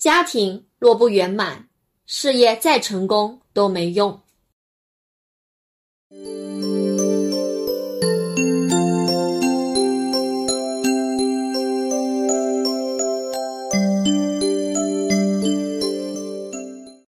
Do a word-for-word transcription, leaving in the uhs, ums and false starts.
家庭若不圆满，事业再成功都没用。